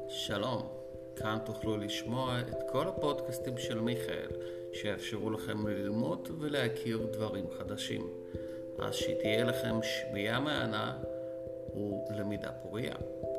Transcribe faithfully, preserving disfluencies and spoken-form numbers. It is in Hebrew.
שלום, כאן תוכלו לשמוע את כל הפודקאסטים של מיכאל שיאפשרו לכם ללמוד ולהכיר דברים חדשים, אז שתהיה לכם שמיעה מהנה ולמידה פוריה.